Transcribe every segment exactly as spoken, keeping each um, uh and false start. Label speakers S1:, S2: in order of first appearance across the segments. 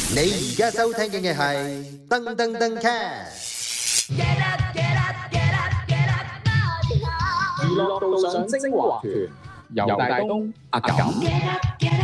S1: 你而家收聽嘅係噔噔噔 cast。
S2: 娛樂道上精華團，由大東、阿感。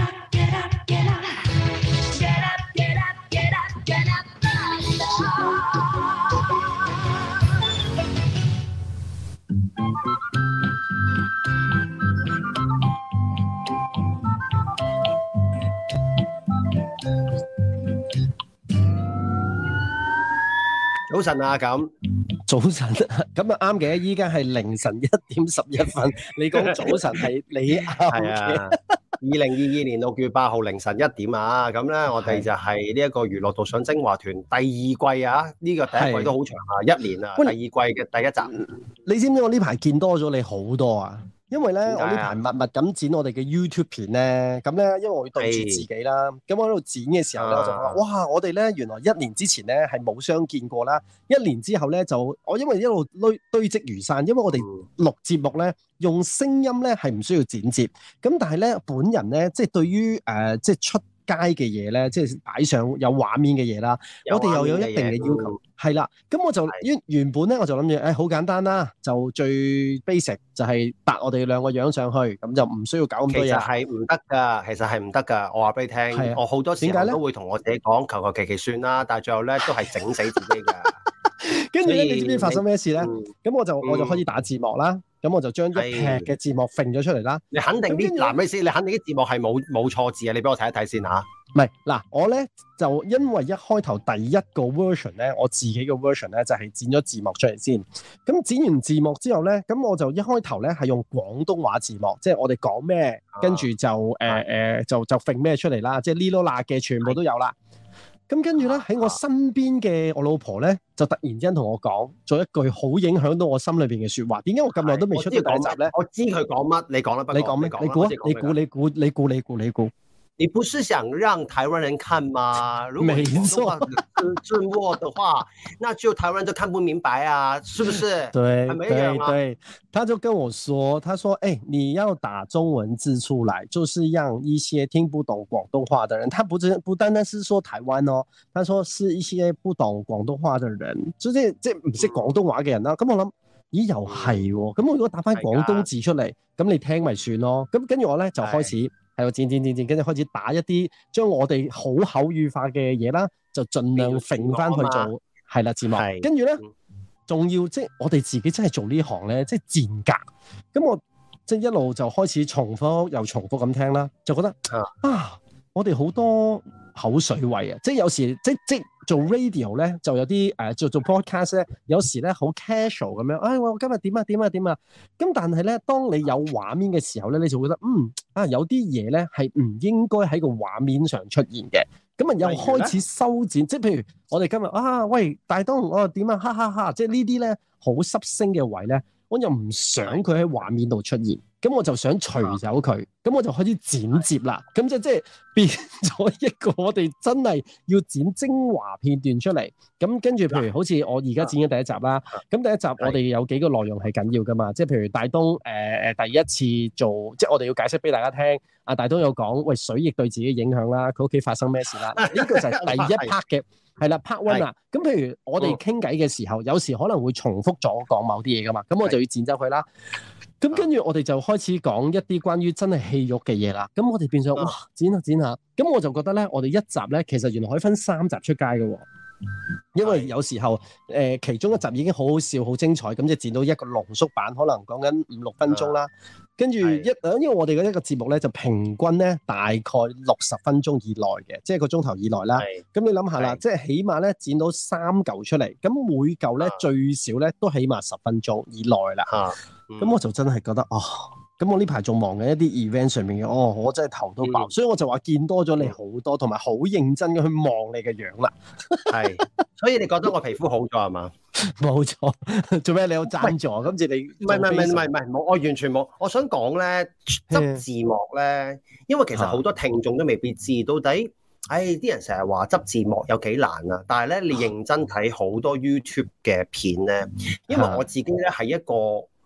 S1: 早晨啊，咁
S3: 早晨咁啊啱嘅，依家係凌晨一點十一分。你講早晨係你啱嘅。
S1: 二零二二年六月八號凌晨一點啊，咁咧我哋就係呢一個娛樂道上精華團第二季啊，呢、這個第一季都好長啊，一年啊，第二季嘅第一集。
S3: 你知唔知我呢排見多咗你好多啊？因為咧，我呢排密密咁剪我哋嘅 YouTube 片咧，咁咧，因為我會對住自己啦，咁我喺度剪嘅時候咧，我就話：哇！我哋咧原來一年之前咧係冇相見過啦，一年之後咧就我因為一路堆堆積如山，因為我哋錄節目咧用聲音咧係唔需要剪接，咁但係咧本人咧即係對於誒、呃、即係出街嘅嘢咧，即係擺上有畫面嘅嘢啦，我哋又有一定嘅要求，係啦。咁我就原原本咧，我就諗住誒好簡單啦，就最 basic 就係搭我哋兩個樣上去，咁就唔需要搞咁多嘢。
S1: 其實係唔得㗎，其實係唔得㗎。我話俾你聽，我好多時候都會同我自己講，求求其其算啦，但係最後咧都係整死自己㗎。
S3: 跟住咧，你知唔知發生咩事咧？咁、嗯、我就我就開始打字幕啦，咁、嗯、我就將一劈嘅字幕揈咗出嚟啦。你肯定啲
S1: 嗱咩先？你肯定啲字幕係冇冇錯字啊？你俾我睇一睇先嚇。
S3: 唔係嗱，我咧就因為一開頭第一個 version 咧，我自己嘅 version 咧就係、是、剪咗字幕出嚟先。咁剪完字幕之後咧，咁我就一開頭咧係用廣東話字幕，即係我哋講咩，跟住就誒誒、呃、就就揈咩出嚟啦，即係呢囉嗱嘅全部都有啦。咁跟住咧喺我身邊嘅我老婆咧，就突然之間同我講咗一句好影響到我心裏邊嘅説話。點解我咁耐都未出到第一集咧？
S1: 我知佢講乜，你講啦，不過
S3: 你講咩？你估？你估？你估？你估？你估？你估？
S1: 你不是想讓台灣人看嗎？如果你說字幕的話，那就台灣人都看不明白啊，是不是？
S3: 對對對，他就跟我說，他說，哎、欸，你要打中文字出來，就是讓一些聽不懂廣東話的人，他不只不單單是說台灣哦，他說是一些不懂廣東話的人，即係即係唔識廣東話嘅人啦。咁、嗯、我諗，咦，又係喎，咁我如果打翻廣東字出嚟，咁你聽咪算咯。咁跟住我咧就開始。係度剪剪剪剪，跟住開始打一啲將我哋好口語化嘅嘢啦，就盡量揈翻去做係啦字幕。跟住咧，仲要即係我哋自己真係做呢行咧，即係賤格。咁我即係一路就開始重複又重複咁聽啦，就覺得啊，啊，我哋好多口水位啊！即係有時即即做 radio 咧，就有啲誒、呃、做做 podcast 咧，有時咧好 casual 咁樣。哎，我今日點啊點啊點啊！咁但係咧，當你有畫面嘅時候咧，你就會覺得嗯啊，有啲嘢咧係唔應該喺個畫面上出現嘅。咁啊，又開始修剪，即係譬如我哋今日啊，喂大東，我點啊，哈哈哈！即係呢啲咧好濕聲嘅位咧，我又唔想佢喺畫面度出現。咁我就想除走佢，咁我就開始剪接啦。咁就即係變咗一個我哋真係要剪精華片段出嚟。咁跟住，譬如好似我而家剪緊第一集啦。咁第一集我哋有幾個內容係緊要噶嘛？即係譬如大東誒誒、呃、第一次做，即係我哋要解釋俾大家聽。阿大東有講，喂水逆對自己影響啦，佢屋企發生咩事啦？呢個就係第一 part 嘅，係啦 part one 啦。咁譬如我哋傾偈嘅時候，有時可能會重複咗講某啲嘢噶嘛，咁我就要剪走佢啦。咁跟住我哋就開始講一啲關於真係戲肉嘅嘢啦。咁我哋變相哇剪下剪下，咁我就覺得咧，我哋一集咧其實原來可以分三集出街嘅喎。因為有時候誒、呃、其中一集已經好好笑好精彩，咁就剪到一個濃縮版，可能講緊五六分鐘啦。跟住一因為我哋嘅一個節目咧就平均咧大概六十分鐘以內嘅，即係個鐘頭以內啦。咁你諗下啦，即係起碼咧剪到三嚿出嚟，咁每嚿咧最少咧都起碼十分鐘以內啦。咁、嗯、我就真係覺得哦，咁我呢排仲忙緊一啲 event 上面嘅，哦，我真係頭都爆、嗯，所以我就話見多咗你好多，同埋好認真嘅去望你嘅樣啦。係，所以你覺得我皮膚好咗係嘛？冇錯，做咩你有贊助？今次你唔係唔係唔係唔係冇，我完全冇。我想講咧，執字幕咧，因為其實好多聽眾都未必知到底。唉、哎，啲人成日話執字幕有幾難啊！但係咧，你認真睇好多 YouTube 嘅片咧，因為我自己咧係一個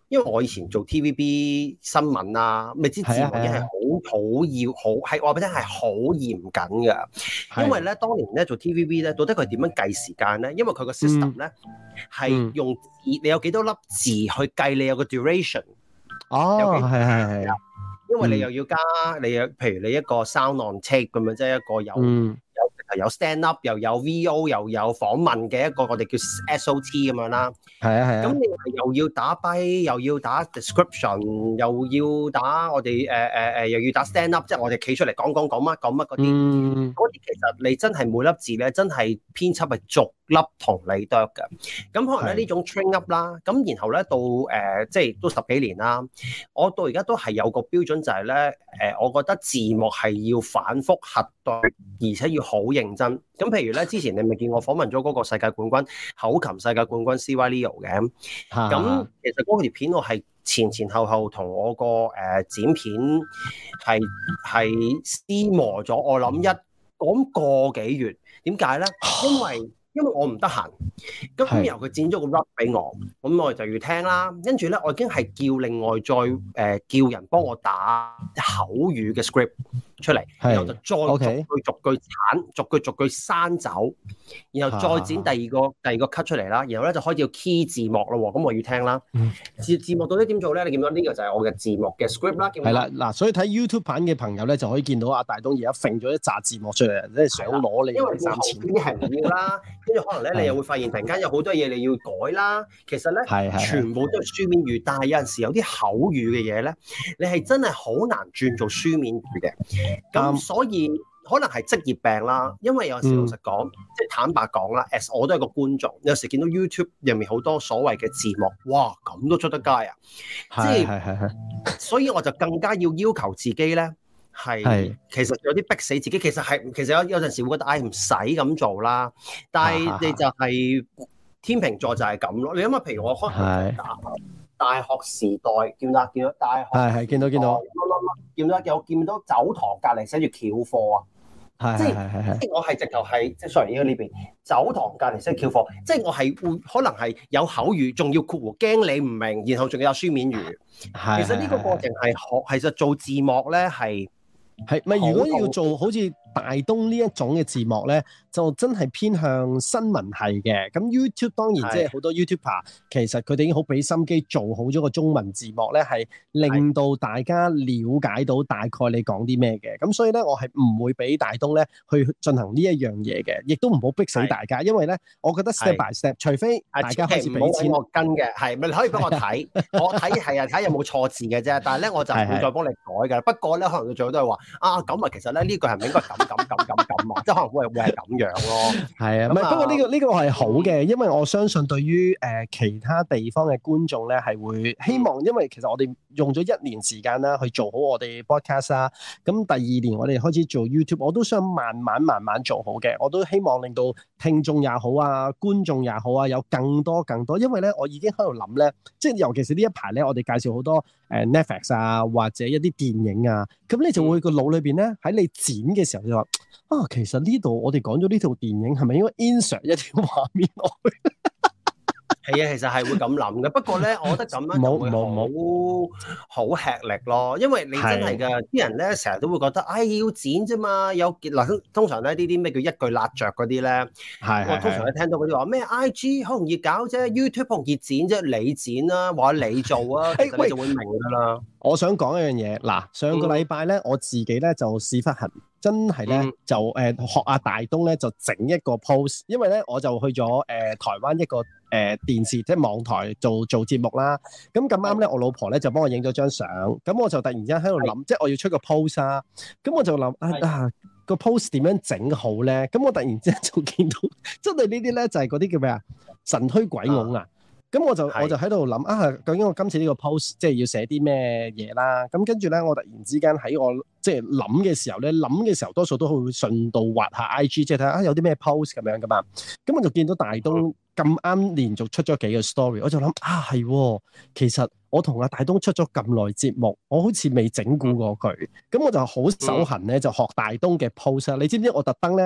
S1: 因為我以前做 T V B 新聞啊，咪知字幕已經係好好要好係話俾你聽係好嚴謹㗎。因為咧當年咧做 T V B 咧，到底佢點樣計時間咧？因為佢個 system 咧係、嗯、用字，你有幾多粒字去計你有個 duration。
S3: 哦，係係係。
S1: 因為你又要加，嗯、你有譬如你一個 sound on tape 咁樣，即係一個有、嗯、有有 stand up 又有 V O 又有訪問嘅一個我哋叫 S O T 咁樣啦。係啊係啊。咁你又要打 by 又要打 description， 又要打我哋誒誒誒，又要打 stand up， 即係我哋企出嚟講講講乜講乜嗰啲。嗯。嗰啲其實你真係每粒字咧，真係編輯係逐粒同你剁嘅。咁可能咧呢種 train up 啦，咁然後咧到誒、呃、即係都十幾年啦，我到而家都係有個標準就係咧誒，我覺得字幕係要反覆核對，而且要好認真。咁譬如咧，之前你咪見我訪問咗嗰個世界冠軍口琴世界冠軍 C Y Leo 嘅，咁其實嗰條片我係前前後後同我個誒、呃、剪片係係撕磨咗，我諗一講個幾月。點解咧？因為因為我唔得閒，咁然後佢剪咗個 rap 俾我，咁我就要聽啦。跟住咧，我已經係叫另外再誒、呃、叫人幫我打口語嘅 script 出嚟，然後就再逐句逐句鏟，逐句逐句刪走，然後再剪第二個第二個 cut 出嚟啦。然後咧就開始要 key 字幕咯，咁我要聽啦。字字幕到底點做咧？你見到呢個就係我嘅字幕嘅 script 啦。係啦，嗱，所以睇 YouTube 版嘅朋友咧就可以見到阿大東而家揈咗一紮字幕出嚟，即係想攞你嘅三千。因為後邊係唔要啦。跟住可能咧，你又會發現突然間有好多嘢你要改啦。其實咧，全部都係書面語，但係有陣時有啲口語嘅嘢咧，你係真係好難轉做書面語嘅。咁、嗯、所以可能係職業病啦。因為有陣時老實講，嗯、即係坦白講啦 ，as 我都係個觀眾，有時見到 YouTube 入面好多所謂嘅字幕，哇，咁都出得街啊！即係，所以我就更加要要求自己咧。係，其實有啲逼死自己，其實係，其實有有陣時會覺得，唉，唔使咁做啦。但係你就係、是、天秤座就係咁咯。你諗下，譬如我可能大大學時代見到見到大學，係係見到見到，見到有見到走堂隔離寫住翹課啊，係即係即係我係直頭係即係 sorry 呢邊走堂隔離寫住翹課，即係我係會可能係有口語，仲要括弧驚你唔明，然後仲有書面語。係其實呢個過程係學，其實做字幕咧係。係咪如果要做好似大東呢一種嘅字幕咧，就真係偏向新聞系嘅。咁 YouTube 當然即係好多 YouTuber，其實佢哋已經好俾心機做好咗個中文字幕咧，係令到大家了解到大概你講啲咩嘅。咁所以咧，我係唔會俾大東咧去進行呢一樣嘢嘅，亦都唔好逼死大家，因為咧，我覺得 step by step，除非大家開始俾錢我跟嘅，係咪你可以幫我睇？我睇係啊，睇有冇錯字嘅啫。但係咧，我就唔會再幫你改㗎。不過咧，可能佢最後都係話啊，咁啊，其實咧呢句係咪應該咁咁咁咁咁啊？即係可能會會係咁樣咯。係啊，唔係不過呢個呢個係好嘅，因為我相信對於誒其他地方嘅觀眾咧係會希望，因為其實我哋用咗一年時間啦去做好我哋 podcast 啦，咁第二年我哋開始做 YouTube，我都想慢慢慢慢做好嘅，我都希望令到聽眾也好啊，觀眾也好啊，有更多更多，因為咧我已經喺度諗咧，即係尤其是呢一排咧，我哋介紹好多誒 Netflix 啊或者一啲電影啊，咁你就會個腦裏邊咧喺你剪嘅時候就話啊，其實呢度我哋講咗呢套電影係咪應該 insert 一條畫面落去？係啊，其實係會咁諗嘅。不過咧，我覺得咁樣就會好好吃力咯。因為你真係㗎，啲人咧成日都會覺得，唉、哎，要剪啫嘛。有嗱，通常咧呢啲咩叫一句辣着嗰啲咧，係我通常咧聽到嗰啲話咩 I G 好容易搞啫 ，YouTube 好容易剪啫，你剪啦，或者你做啊，其實你就會明㗎啦。我想講一樣嘢，嗱，上個禮拜咧，我自己咧就屎忽痕，真係咧、嗯、就誒、呃、學阿大東咧就整一個 post， 因為咧我就去咗誒、呃、台灣一個誒、呃、電視即係網台做做節目啦。咁咁啱咧，我老婆咧就幫我影咗張相，咁我就突然之間喺度諗，即係我要出個 post 啊。咁我就諗啊啊個 post 點樣整好咧？咁我突然之間就見到，真係呢啲咧就係嗰啲叫咩啊？神推鬼拱啊！咁我就我就喺度諗啊，究竟我今次呢個 post 即係要寫啲咩嘢啦？咁跟住咧，我突然之間喺我即係諗嘅時候咧，諗嘅時候多數都會順道滑下 I G， 即係睇下啊有啲咩 post 咁樣噶嘛。咁我就見到大東咁啱連續出咗幾個 story，我就諗啊係，其實我同阿大東出咗咁耐節目，我好似未整蠱過佢。咁我就好手痕咧，就學大東嘅 post 啦。你知唔知我特登咧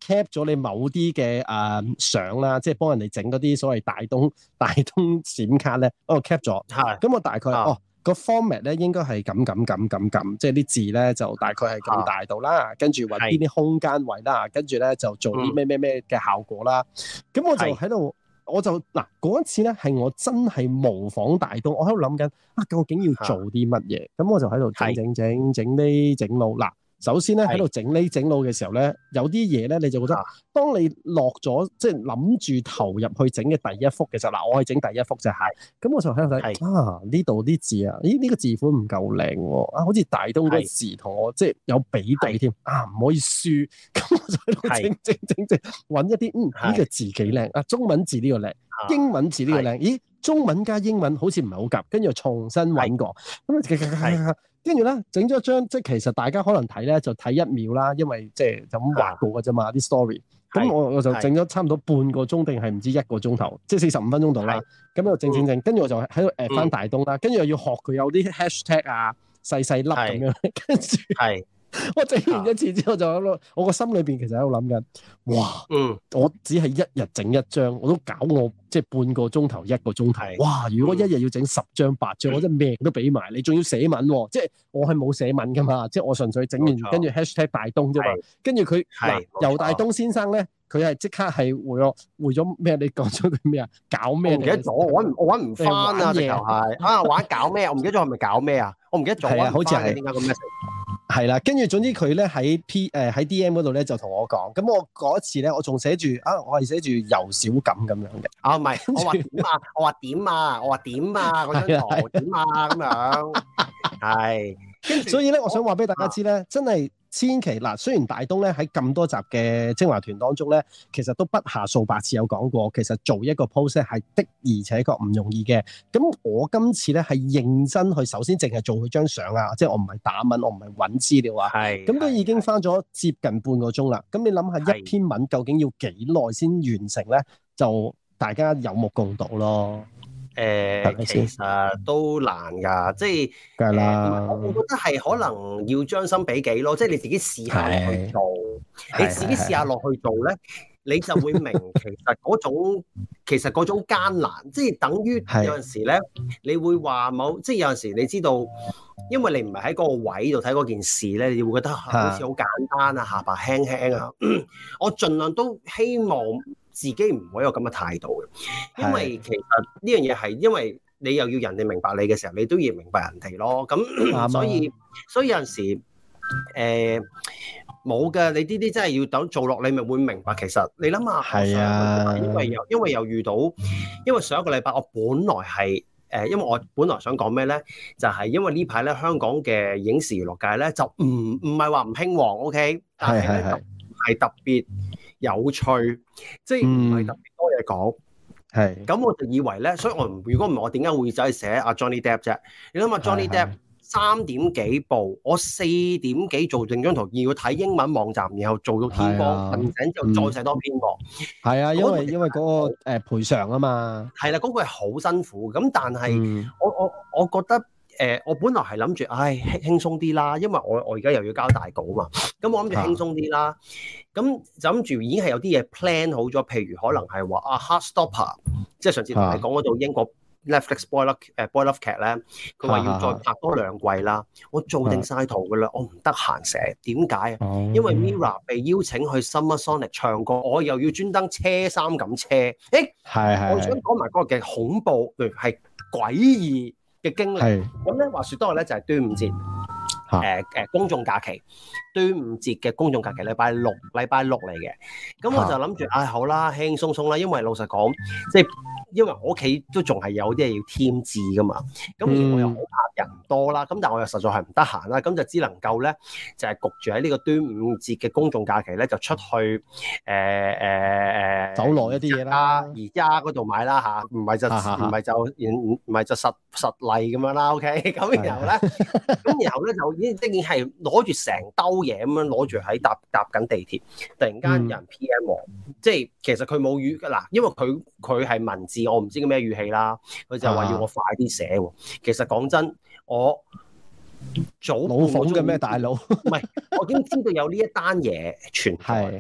S3: cap 咗你某啲嘅誒相啦，即係幫人哋整嗰啲所謂大東大東閃卡咧，我 cap 咗。係。咁我大概、啊、哦。個 format 咧應該係咁咁咁咁咁，即係啲字咧就大概係咁大度啦，跟住揾邊啲空間位啦，跟住咧就做啲咩咩咩嘅效果啦。咁、嗯、我就喺度，我就嗱嗰一次咧係我真係模仿大東，我喺度諗緊啊，究竟要做啲乜嘢？咁我就喺度整整整整呢整路嗱。首先咧喺度整呢整路嘅時候咧，有啲嘢咧你就覺得，當你落咗即係諗住投入去整嘅第一幅嘅時候，嗱我係整第一幅啫嚇，咁我就喺度睇啊呢度啲字啊，咦呢、呢個字款唔夠靚喎，啊好似大東個字同我即係有比對添，啊唔可以輸，咁我就喺度整整整整揾一啲嗯呢、呢個字幾靚啊，中文字呢個靚，英文字呢個靚，咦中文加英文好似唔係好夾，跟住又重新揾過，咁啊跟住咧，整咗張即係其實大家可能睇咧就睇一秒啦，因為即係就咁畫過嘅啫嘛啲 story。咁我我就整咗差唔多半個鐘定係唔知一個鐘頭，即係四十五分鐘度啦。咁就整整整，跟住我就喺度 at 翻大東啦，跟住又要學佢有啲 hashtag 啊，細細粒咁樣，跟住我整完一次之後就喺度，我個心裏邊其實喺度諗緊，哇，嗯，我只係一日整一張，我都搞我即係半個鐘頭一個鐘頭，哇！如果一日要整十張八張，我真係命都俾埋你，仲要寫文，即係我係冇寫文噶嘛，即係我純粹整完跟住 hashtag 大東啫嘛，跟住佢嗱游大東先生咧，佢係即刻係回咗回咗咩？你講咗啲咩啊？搞咩？我唔記得咗，我搵我搵唔翻啊！直頭係啊玩搞咩？我唔記得咗係咪搞咩啊？我唔記得咗，好似係點解咁 message？係啦，跟住總之佢咧喺 P 誒喺 D M 嗰度咧就同我講，咁我嗰一次咧我仲寫住啊，我係寫住游小錦咁樣嘅。啊唔係，我話點啊，我話點啊，我話點啊，嗰張圖點啊咁樣。係，跟住所以咧，我想話俾大家知咧，真係。千祈嗱，雖然大東咧喺咁多集嘅精華團當中咧，其實都不下數百次有講過，其實做一個 post 係的而且確唔容易嘅。咁我今次咧係認真去，首先淨係做佢張相啊，即係我唔係打文，我唔係揾資料啊。係。咁都已經花咗接近半個鐘啦。咁你諗下一篇文究竟要幾耐先完成咧？就大家有目共睹咯。誒、呃，其實都難㗎，即係，梗係啦。我我覺得係可能要將心比己咯，即係你自己試下落去做，你自己試下落去做咧，你就會明其實嗰種其實嗰種艱難，即係等於有陣時咧，你會話冇，即係有陣時你知道，因為你唔係喺嗰個位度睇嗰件事咧，你會覺得好似好簡單啊，下巴輕輕啊，我盡量都希望。自己唔會有咁嘅態度嘅，因為其實呢樣嘢係因為你又要人哋明白你嘅時候，你都要明白人哋咯。咁所以所以有陣時誒冇嘅，你呢啲真係要等做落，你咪會明白。其實你諗下，係啊，因為又因為又遇到，因為上一個禮拜我本來係誒、呃，因為我本來想講咩咧，就係、是、因為呢排咧香港嘅影視娛樂界咧就唔唔係話唔興旺 ，OK， 但係咧就係特別有趣，即係唔係特別多嘢講，係、嗯。咁我就以為咧，所以我如果唔係我點解會走去寫阿 Johnny Depp 啫？你諗下 Johnny Depp 三點幾部，我四點幾做定張圖，要睇英文網站，然後做到天光，瞓醒之後再寫多篇喎。係啊，因為因為嗰、嗰個誒賠償啊嘛。係啦，嗰、嗰個係好辛苦。咁但係、嗯、我我我覺得。誒、呃，我本來係諗住，唉，輕輕鬆啲啦，因為我我而家又要交大稿嘛，咁我諗住輕鬆啲啦，咁就諗住已經係有啲嘢 plan 好咗，譬如可能係話啊 Heartstopper， 即係上次同你講嗰度英國 Netflix boy love 誒 boy love 劇咧，佢話要再拍多兩季啦，我做定晒圖噶啦，我唔得閒寫，點解啊？因為 Mirror 被邀請去 Summer Sonic 唱歌，我又要專登車衫咁車，誒，係我想講埋嗰個嘅恐怖，譬如係詭異嘅經歷，咁咧話説多日咧就係端午節，誒、呃、誒公眾假期，端午節嘅公眾假期禮拜六，禮拜六嚟嘅，咁我就諗住，唉、哎、好啦，輕輕鬆鬆啦，因為老實講，即係因為我屋企都仲係有啲嘢要添置噶嘛，咁而我又好怕人多啦，咁但係我又實在係唔得閒啦，咁就只能夠咧就係、是、焗住喺呢個端午節嘅公眾假期咧就出去誒誒誒走落一啲嘢啦，而家嗰度買啦嚇，唔係就唔係就唔唔係就實實例咁樣啦 ，OK， 咁然後咧，咁然後咧就已經即係係攞住成兜嘢咁樣攞住喺搭搭緊地鐵，突然間有人 P M 我，嗯、即係其實佢冇語嗱，因為佢佢係文字，我唔知叫咩語氣啦，佢就話要我快啲寫喎。其實講真，我早老闆嘅咩大佬，唔係，我已經知道有呢一單嘢傳開。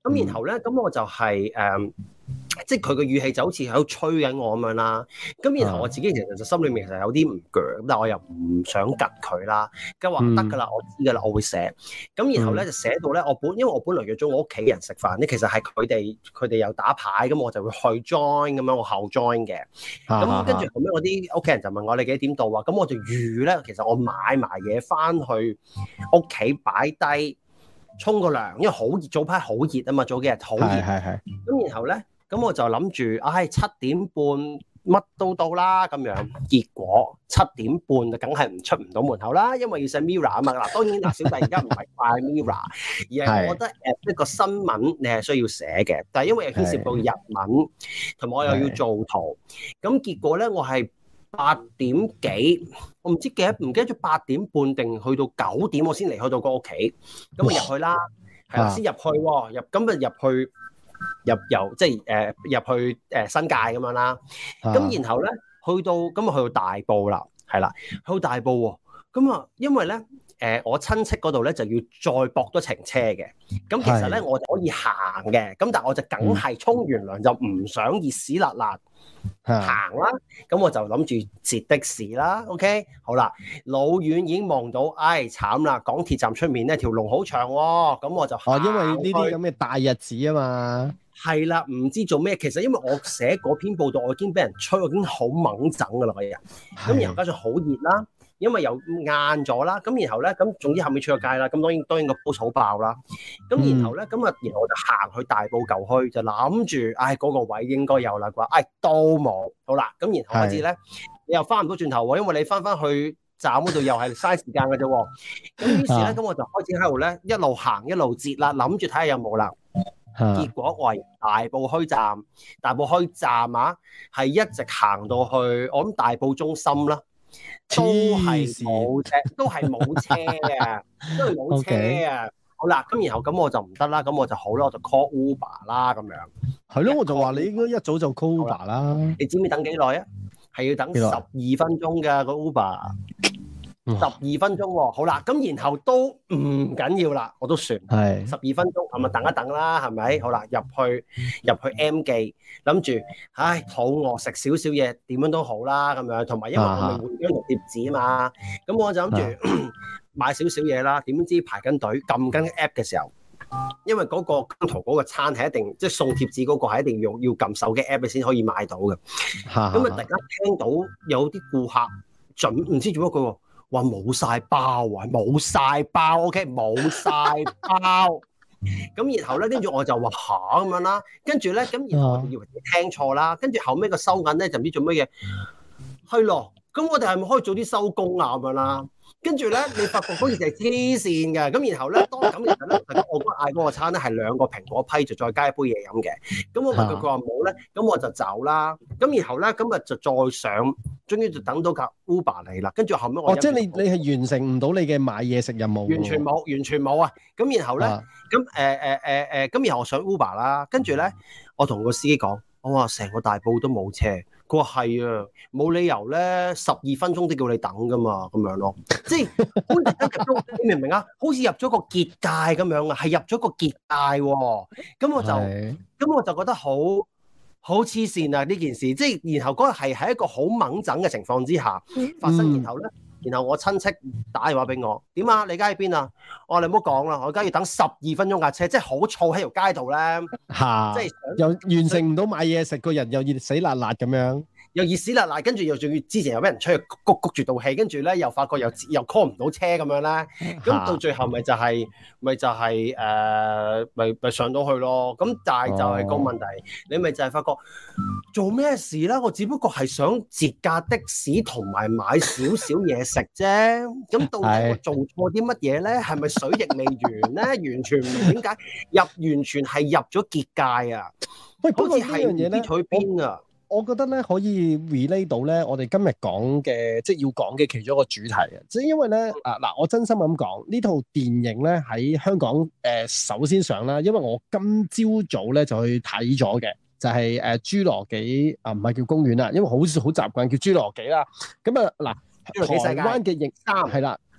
S1: 咁然後咧，咁我就係、是、誒。嗯即係佢個語氣就好似喺度催緊我咁樣啦，咁然後我自己其實就心裏面其實有啲唔鋸，但係我又唔想吉佢啦，咁話得㗎啦，我知㗎啦，我會寫。咁然後咧就寫到咧，我本因為我本來約咗我屋企人食飯咧，其實係佢哋佢哋有打牌，咁我就會去 join 咁樣，我後 join 嘅。咁跟住後尾我啲屋企人就問我你幾點到啊？咁我就預咧，其實我買埋嘢翻去屋企擺低，沖個涼，因為好熱，早排好熱啊嘛，早幾日好熱。係係係。咁然後咧。咁我就諗住，唉、哎，七點半乜都到啦咁樣。結果七點半就梗係唔出唔到門口啦，因為要寫 Mirror 啊嘛。嗱，當然嗱，小弟而家唔係快 Mirror， 而係我覺得誒一個新聞你係需要寫嘅，但係因為又牽涉到日文，同埋我又要做圖。咁結果咧，我係八點幾，我唔知幾唔記得咗八點半定去到九點，我先離開到個屋企。咁我入去啦，係啦，先入去喎，入咁啊入去。入由即係誒入去誒、呃、新界咁樣啦，咁、啊、然後咧去到咁啊去到大埔啦，係啦，去到大埔喎，咁啊因為咧誒、呃、我親戚嗰度咧就要再駁多程車嘅，咁其實咧我就可以行嘅，咁但係我就梗係沖完涼就唔想熱屎辣辣。行啦，咁我就諗住截的士啦 ，OK， 好啦，老遠已經望到，唉，慘啦，港鐵站出面呢條龍好長喎、哦，咁我就哦，因為呢啲咁嘅大日子啊嘛，係啦，唔知做咩，其實因為我寫嗰篇報道，我已經俾人吹，我已經好猛整噶啦，個人，咁然後加上好熱啦。因為又晏咗啦，咁然後咧，咁總之後面出咗街啦，咁當然當然個 post 好爆啦，咁然後咧，咁啊，然後我就行去大埔舊墟，就諗住，唉，嗰、那個位應該有啦啩，唉，都冇，好啦，咁然後開始咧，你又翻唔到轉頭喎，因為你翻翻去站嗰度又係嘥時間嘅啫喎，咁於是咧，咁我就開始喺度咧一路行一路截啦，諗住睇下有冇啦，結果我係大埔墟站，大埔墟站啊，係一直行到去我諗大埔中心啦。都係冇車，都係冇車嘅，都係冇車啊！ Okay. 好啦，咁然後咁我就唔得啦，咁我就好啦，我就 call Uber 啦，咁樣。係咯，我就話你應該一早就 call Uber 啦。你知唔知等幾耐啊？係要等十二分鐘㗎個 Uber。十二分鐘喎，好啦，咁然後都唔緊要啦，我都算係十二分鐘，咁咪等一等啦，係咪？好啦，入去入去 M 記，諗住，唉，肚餓食少少嘢，點樣都好啦，咁樣，同埋因為我咪換張同貼紙啊嘛，咁我就諗住買少少嘢啦，點知排緊隊撳緊 app 嘅時候，因為嗰個姜濤嗰個餐係一定即係送貼紙嗰個係一定要要撳手機 app 先可以買到嘅，咁啊突然間聽到有啲顧客準唔知做乜佢喎。話冇晒包啊，冇晒包 ，OK， 冇晒包。咁然後咧，跟住我就話吓咁樣啦，跟住咧，咁然後我就以為你聽錯啦，跟住後尾個收銀咧就唔知做乜嘢，係咯，咁我哋係咪可以早啲收工啊咁樣啦？跟住咧，你發覺嗰件事係黐線嘅，咁然後咧，當咁其實咧，我嗰嗌嗰個餐咧係兩個蘋果批，就再加一杯嘢飲嘅。咁我問佢，佢話冇咧，咁我就走啦。咁然後咧，今日就再上，終於就等到架 Uber 嚟啦。跟住後尾我哦，即係你你係完成唔到你嘅買嘢食任務，完全冇，完全冇啊！咁然後咧，咁誒誒誒誒，咁、呃呃呃、然後我上 Uber 啦，跟住咧，我同個司機講，我話成個大埔都冇車。佢話係啊，冇理由咧，十二分鐘都叫你等噶嘛，咁樣咯，即係好似入咗，你明唔明啊？好似入咗個結界咁樣啊，係入咗個結界喎。咁我就，咁我就覺得好好黐線啊！呢件事，即係然後嗰日係喺一個好猛整嘅情況之下發生，然後咧。然後我親戚打電話俾我，點啊？你而家喺邊啊？我話你唔好講啦，我而家要等十二分鐘架車，即係好燥喺條街度咧，即係又完成唔到買嘢食，個人又熱死辣辣咁樣，又熱死辣辣，跟住又仲要之前又俾人出去谷谷住道氣，跟住咧又發覺又又 call 唔到車咁樣咧，咁到最後咪就係、是、咪就係誒咪咪上到去咯。咁但係就係個問題，哦、你咪就係發覺做咩事咧？我只不過係想截架的士同埋買少少嘢食啫。咁到底我做錯啲乜嘢咧？係咪水逆未完咧？完全唔明點解入完全係入咗結界啊！喂，好似係唔知去邊啊！
S3: 我覺得咧可以 relate 到咧，我哋今日講嘅即係要講嘅其中一個主題啊！即係因為咧啊嗱，我真心咁講，呢套電影咧喺香港誒、呃、首先上啦，因為我今朝早咧就去睇咗嘅，就係、是、誒、呃、侏羅紀啊，唔係叫公園啦，因為好似好習慣叫侏羅紀啦。咁啊嗱，台灣嘅影三係啦。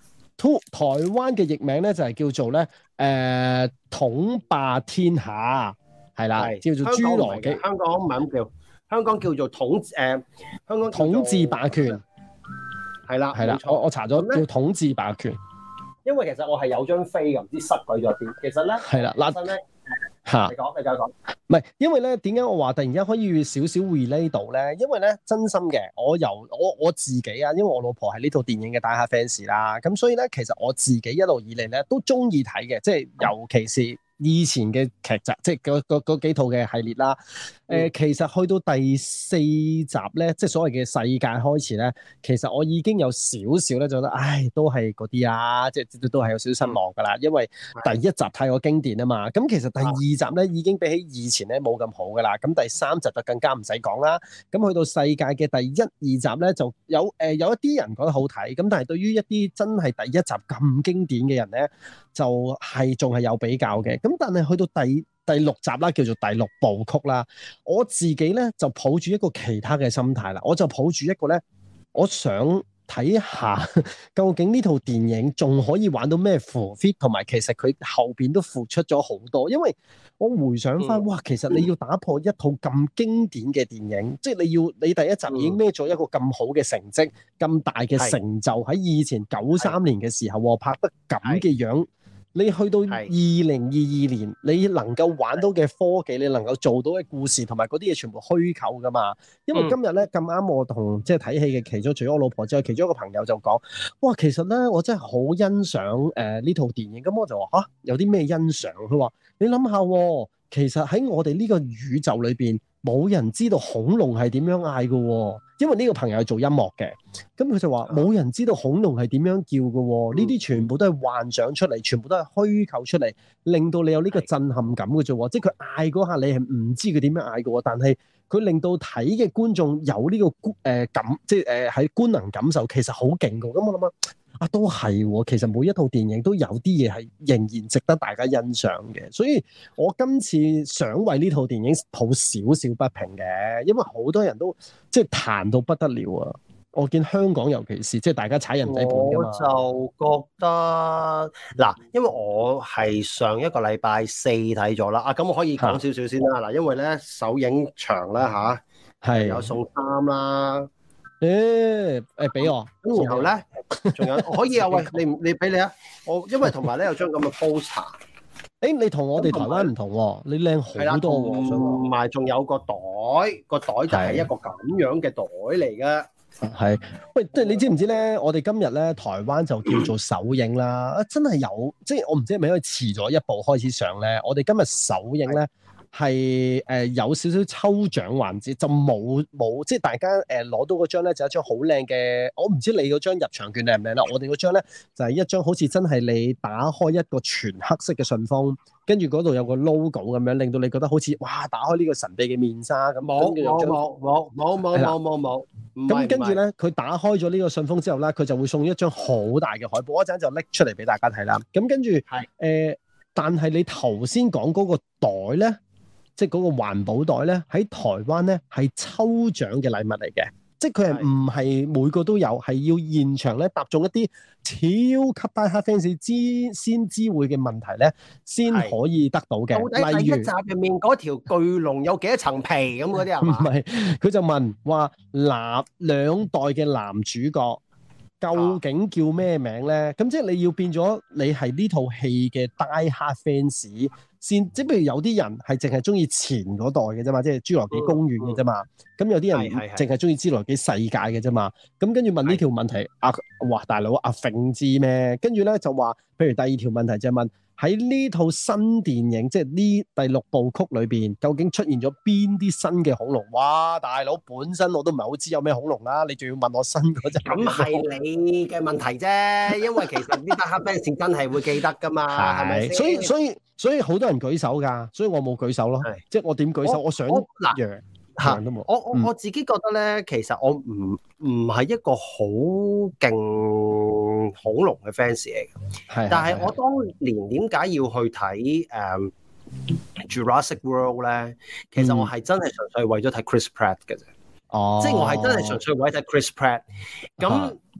S3: 台灣嘅譯名咧就係、是、叫做咧誒、呃、統霸天下，係啦，叫做侏羅紀。
S1: 香港唔係咁叫，香港叫做統誒、呃、香港
S3: 統治霸權，係啦係啦，我我查咗叫統治霸權。
S1: 因為其實我係有張飛嘅，唔知塞鬼咗邊。其實咧係啦，嗱咧嚇，你講你繼續講。
S3: 唔係，因為咧點解我話突然間可以少少 relate 到咧？因為咧真心嘅，我由我我自己啊，因為我老婆係呢套電影嘅大客 fans 啦，咁所以咧其實我自己一路以嚟咧都中意睇嘅，即係尤其是以前嘅劇集，即係嗰嗰嗰幾套嘅系列啦。誒、呃，其實去到第四集咧，即係所謂嘅世界開始咧，其實我已經有少少咧，就覺得，唉，都係嗰啲啊，即係都係有少少失望噶啦。因為第一集太過經典啊嘛。咁其實第二集咧已經比起以前咧冇咁好噶啦。咁第三集就更加唔使講啦。咁去到世界嘅第一、二集咧，就有誒、呃、有一啲人覺得好睇，咁但係對於一啲真係第一集咁經典嘅人咧，就係仲係有比較嘅。咁但係去到第第六集啦，叫做第六部曲啦，我自己咧就抱住一個其他嘅心態啦，我就抱住一個咧，我想睇下究竟呢套電影仲可以玩到咩 full fit， 同埋其實佢後邊都付出咗好多，因為我回想翻、嗯，哇，其實你要打破一套咁經典嘅電影，嗯、即係你要你第一集已經孭咗一個咁好嘅成績，咁、嗯、大嘅成就喺以前九三年嘅時候拍得咁嘅樣。你去到二零二二年，你能夠玩到嘅科技，你能夠做到嘅故事，同埋嗰啲嘢全部虛構噶嘛？因為今日咧咁啱，我同即係睇戲嘅其中，除咗我老婆之外，其中一個朋友就講：哇，其實咧我真係好欣賞誒呢套電影。咁我就話嚇，有啲咩欣賞？佢話：你諗下，其實喺我哋呢個宇宙裏邊，冇人知道恐龍係點樣嗌嘅。因為呢個朋友係做音樂嘅，咁佢就話冇人知道恐龍係點樣叫嘅，呢啲全部都係幻想出嚟，全部都係虛構出嚟，令到你有呢個震撼感嘅啫。即係佢嗌嗰下，你係唔知佢點樣嗌嘅，但係佢令到睇嘅觀眾有呢個觀誒感，即係誒喺觀能感受，其實好勁嘅。咁我諗啊，啊都係，其實每一套電影都有啲嘢係仍然值得大家欣賞嘅。所以我今次想為呢套電影抱少少不平嘅，因為好多人都即係彈到不得了啊！我見香港尤其是即係大家踩人仔盤㗎嘛，
S1: 我就覺得嗱，因為我係上一個禮拜四睇咗啦，啊咁我可以講少少先啦，嗱，因為咧首映場啦吓，係有送衫啦，
S3: 誒誒俾我，
S1: 咁然後咧仲有可以啊，喂，你你俾你啊，我因為同埋咧有張咁嘅 poster。
S3: 誒，你同我哋台灣唔同喎，你靚好多喎，
S1: 同埋仲有個袋，個袋就係一個咁樣嘅袋嚟嘅。
S3: 係，喂，即係你知唔知咧？我哋今日咧台灣就叫做首映啦，啊，真係有，即係我唔知係咪因為遲咗一步開始上咧。我哋今日首映咧係誒有少少抽獎環節，就冇冇即係大家誒攞到嗰張咧就一張好靚嘅，我唔知你嗰張入場券靚唔靚啦。我哋嗰張咧就係一張好似真係你打開一個全黑色嘅信封。跟住嗰度有個 logo 咁樣，令到你覺得好似哇，打開呢個神秘嘅面紗咁。
S1: 冇冇冇冇冇冇冇冇冇。
S3: 咁跟住咧，佢打開咗呢個信封之後咧，佢就會送一張好大嘅海報，我一陣就拎出嚟俾大家睇啦。咁跟住係誒，但係你頭先講嗰個袋咧，即係嗰個環保袋咧，喺台灣咧係抽獎嘅禮物嚟嘅。即係佢係唔係每個都有，係要現場咧答中一啲超級大客 fans 知先知會嘅問題咧，先可以得到嘅。
S1: 到底第一集入面嗰條巨龍有幾多層皮咁嗰啲係嘛？
S3: 唔係，佢就問話男兩代嘅男主角究竟叫咩名咧？咁、啊、即係你要變咗你係呢套戲嘅 die hard fans 先，即係譬如有啲人係淨係中意前嗰代嘅啫嘛，即係侏羅紀公園嘅啫嘛。咁、嗯嗯、有啲人淨係中意侏羅紀世界嘅啫嘛。咁跟住問呢條問題，阿哇大佬阿揈知咩？跟住咧就話，譬如第二條問題就係問喺呢套新電影，即係呢第六部曲裏邊，究竟出現咗邊啲新嘅恐龍？哇，大佬本身我都唔係好知有咩恐龍啦，你仲要問我新嗰隻？
S1: 咁係你嘅問題啫，因為其實呢啲黑 fans 真係會記得噶嘛，係咪？
S3: 所以所以所以好多人舉手㗎，所以我冇舉手咯。即係我點舉手？我，我想嗱嚇，我我我，我自己覺得咧，其實我唔唔係一個好勁恐龍嘅 fans 嚟嘅，係。但係我當年點解要去睇誒、um, Jurassic World 咧？其實我係真係純粹為咗睇 Chris Pratt 嘅啫。哦，即係我係真係純粹為咗睇 Chris Pratt。咁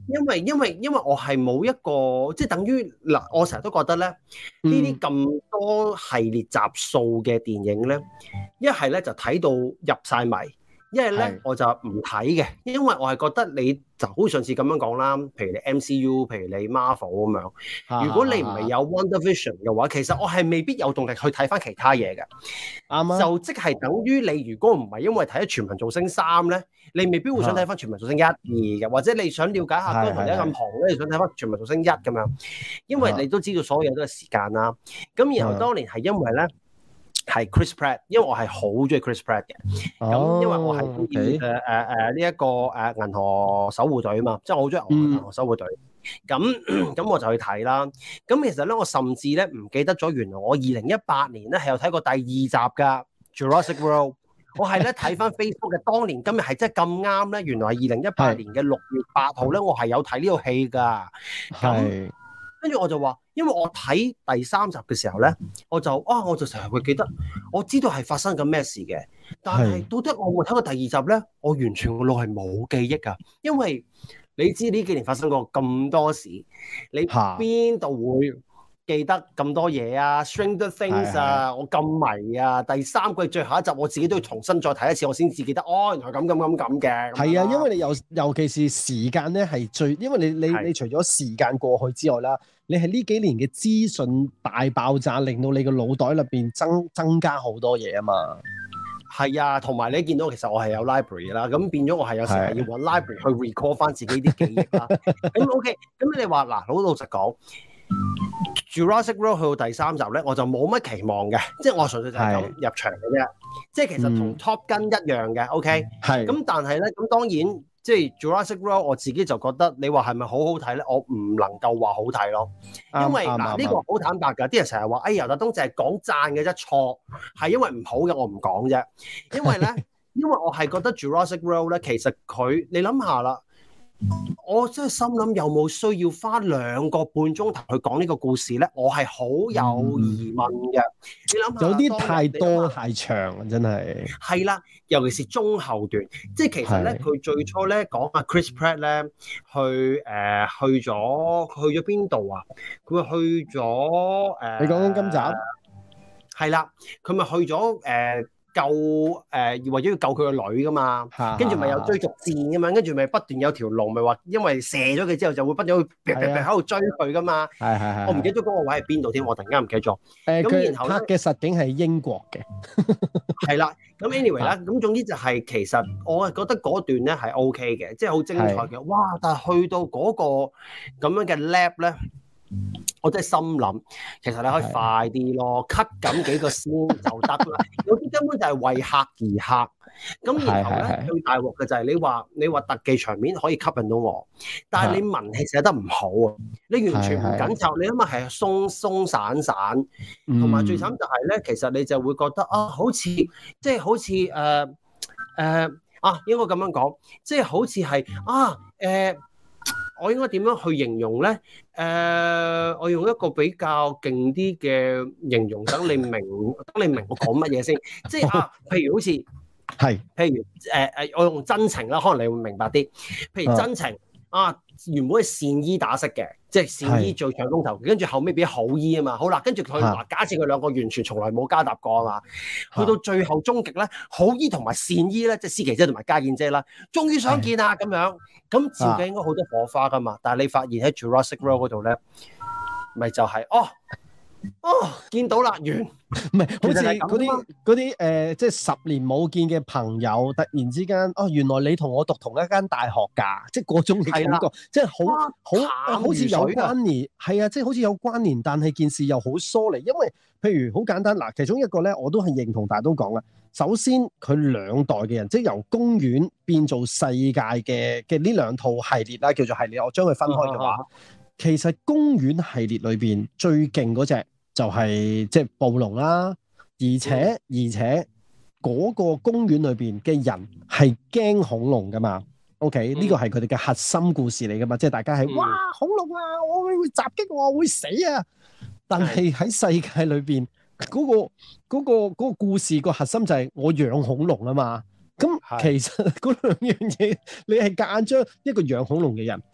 S1: 因為因為因為我係冇一個即係等於嗱，我成日都覺得咧呢啲咁多系列集數嘅電影咧，一係咧就睇到入晒迷。一係咧我就唔睇嘅，因為我係覺得你就好似上次咁樣講啦，譬如你 M C U， 譬如你 Marvel 咁樣，如果你唔係有 WandaVision 嘅話，其實我係未必有動力去睇翻其他嘢嘅。啱啊！就即係等於你如果唔係因為睇咗全民造星三咧，你未必會想睇翻全民造星一、二嘅，或者你想了解下江宏一咁紅咧，你想睇翻全民造星一咁樣，因為你都知道所有嘢都係時間啦。咁然後當年係因為咧。係 Chris Pratt， 因為我係好中意 Chris Pratt 嘅，咁、oh, 因為我係中意誒誒誒呢一個誒銀河守護隊啊嘛，即係我好中意銀河守護隊，咁咁、嗯、我就去睇啦。咁其實咧，我甚至咧唔記得咗，原來我二零一八年咧係有睇過第二集噶 Jurassic World。我係咧睇翻 Facebook 嘅當年今日係真係咁啱咧，原來係二零一八年嘅六月八號咧，我係有睇呢套戲噶。咁跟住我就話，因為我睇第三集嘅時候咧，我就啊，我就成日會記得，我知道係發生緊咩事嘅，但係到底我會睇過第二集咧，我完全個腦係冇記憶噶，因為你知呢幾年發生過咁多事，你邊度會記得咁多嘢啊 Stranger Things 啊，我咁迷啊，第三季最後一集我自己都要重新再睇一次，我先至記得，哦，原來咁咁咁咁嘅。係啊，因為你尤尤其是時間咧係最，因為你你你除咗時間過去之外啦，你係呢幾年嘅資訊大爆炸，令到你個腦袋入邊增增加好多嘢啊嘛。係啊，同埋你見到其實我係有 library 啦，咁變咗我係有時係要揾 library 去 recall 翻自己啲記憶啦。咁 OK，咁你話嗱，好老實講。Jurassic World 去到第三集咧，我就冇乜期望嘅，即係我純粹就係咁入場嘅啫。即係其實同 Top Gun 一樣嘅 ，OK。係。咁但係咧，咁當然即係 Jurassic World 我自己就覺得，你話係咪好好睇咧？我唔能夠話好睇咯，因為嗱呢個好坦白㗎，啲人成日話，哎呀，尤達東淨係講讚嘅啫，錯係因為唔好嘅，我唔講啫。因為咧，因為我係覺得 Jurassic World 咧，其實佢你諗下啦。我真係心諗有冇需要花兩個半鐘頭去講呢個故事咧？我係好有疑問嘅。嗯、你諗下，有啲太多太長，真係係啦，尤其是中後段，即係其實咧，佢最初咧講阿 Chris Pratt 咧去誒、呃、去咗去咗邊度啊？佢去咗誒，呃、你講緊今集係啦，佢咪去咗誒。呃救誒、呃，為咗要救佢個女噶嘛，跟住咪有追逐戰咁樣，跟住咪不斷有條龍，咪話因為射咗佢之後就會不斷去喺度追佢噶嘛。係係係，我唔記得咗嗰個位係邊度添，我突然間唔記得咗。誒、呃，佢拍嘅實景係英國嘅。係啦，咁 anyway 啦，咁總之就係、是、其實我係覺得嗰段咧係 OK 嘅，即係好精彩嘅。哇！但係去到嗰個咁樣嘅 lab 咧。我真係心諗，其實你可以快啲咯 ，cut 緊幾個先就得啦。有啲根本就係為客而客。咁然後咧，最大鑊嘅就係你話你話特技場面可以吸引到我，但係你文戲寫得唔好啊！你完全唔緊湊，你諗下係鬆鬆散散，同埋最慘就係咧，其實你就會覺得啊，好似即係好似誒誒啊，應該咁樣講，即係好似係啊誒。呃我應該點樣去形容咧？誒、呃，我用一個比較勁啲嘅形容，等你明，等你明我講乜嘢先。即係啊，譬如好似係，譬如誒誒、呃，我用真情啦，可能你會明白啲。譬如真情啊，原本係善意打色嘅，即係善意做搶風頭，跟住後尾變好意啊嘛。好啦，跟住佢話假設佢兩個完全從來冇交搭過啊嘛，去到最後終極咧，好意同埋善意咧，即係思琪姐同埋家燕姐啦，終於相見啦咁樣。咁照計應該好多火花噶嘛，但係你發現喺 Jurassic World 嗰度咧，咪就係、是、哦哦見到啦完，唔係好似嗰啲嗰啲誒，即係十年冇見嘅朋友，突然之間哦，原來你同我讀同一間大學㗎，即係嗰種嘅感覺，即係好好好似有關聯，係啊，即係好似有關聯，但係件事又好疏離，因為譬如好簡單嗱，其中一個咧，我都係認同，大家都講啦。首先，佢兩代嘅人，即係由公園變做世界嘅嘅呢兩套系列啦，叫做系列。我將佢分開嘅話，啊啊、其實公園系列裏邊最勁嗰隻就係即係暴龍啦，而且、嗯、而且嗰個公園裏邊嘅人係驚恐龍噶嘛。OK，呢、嗯、個係佢哋嘅核心故事嚟噶嘛，即係大家係、嗯、哇恐龍啊，我會襲擊我，我會死啊！但係喺世界裏邊。嗰、那個嗰、那個那個故事個核心就係我養恐龍啊嘛，咁其實嗰兩樣嘢你係夾硬將一個養恐龍嘅人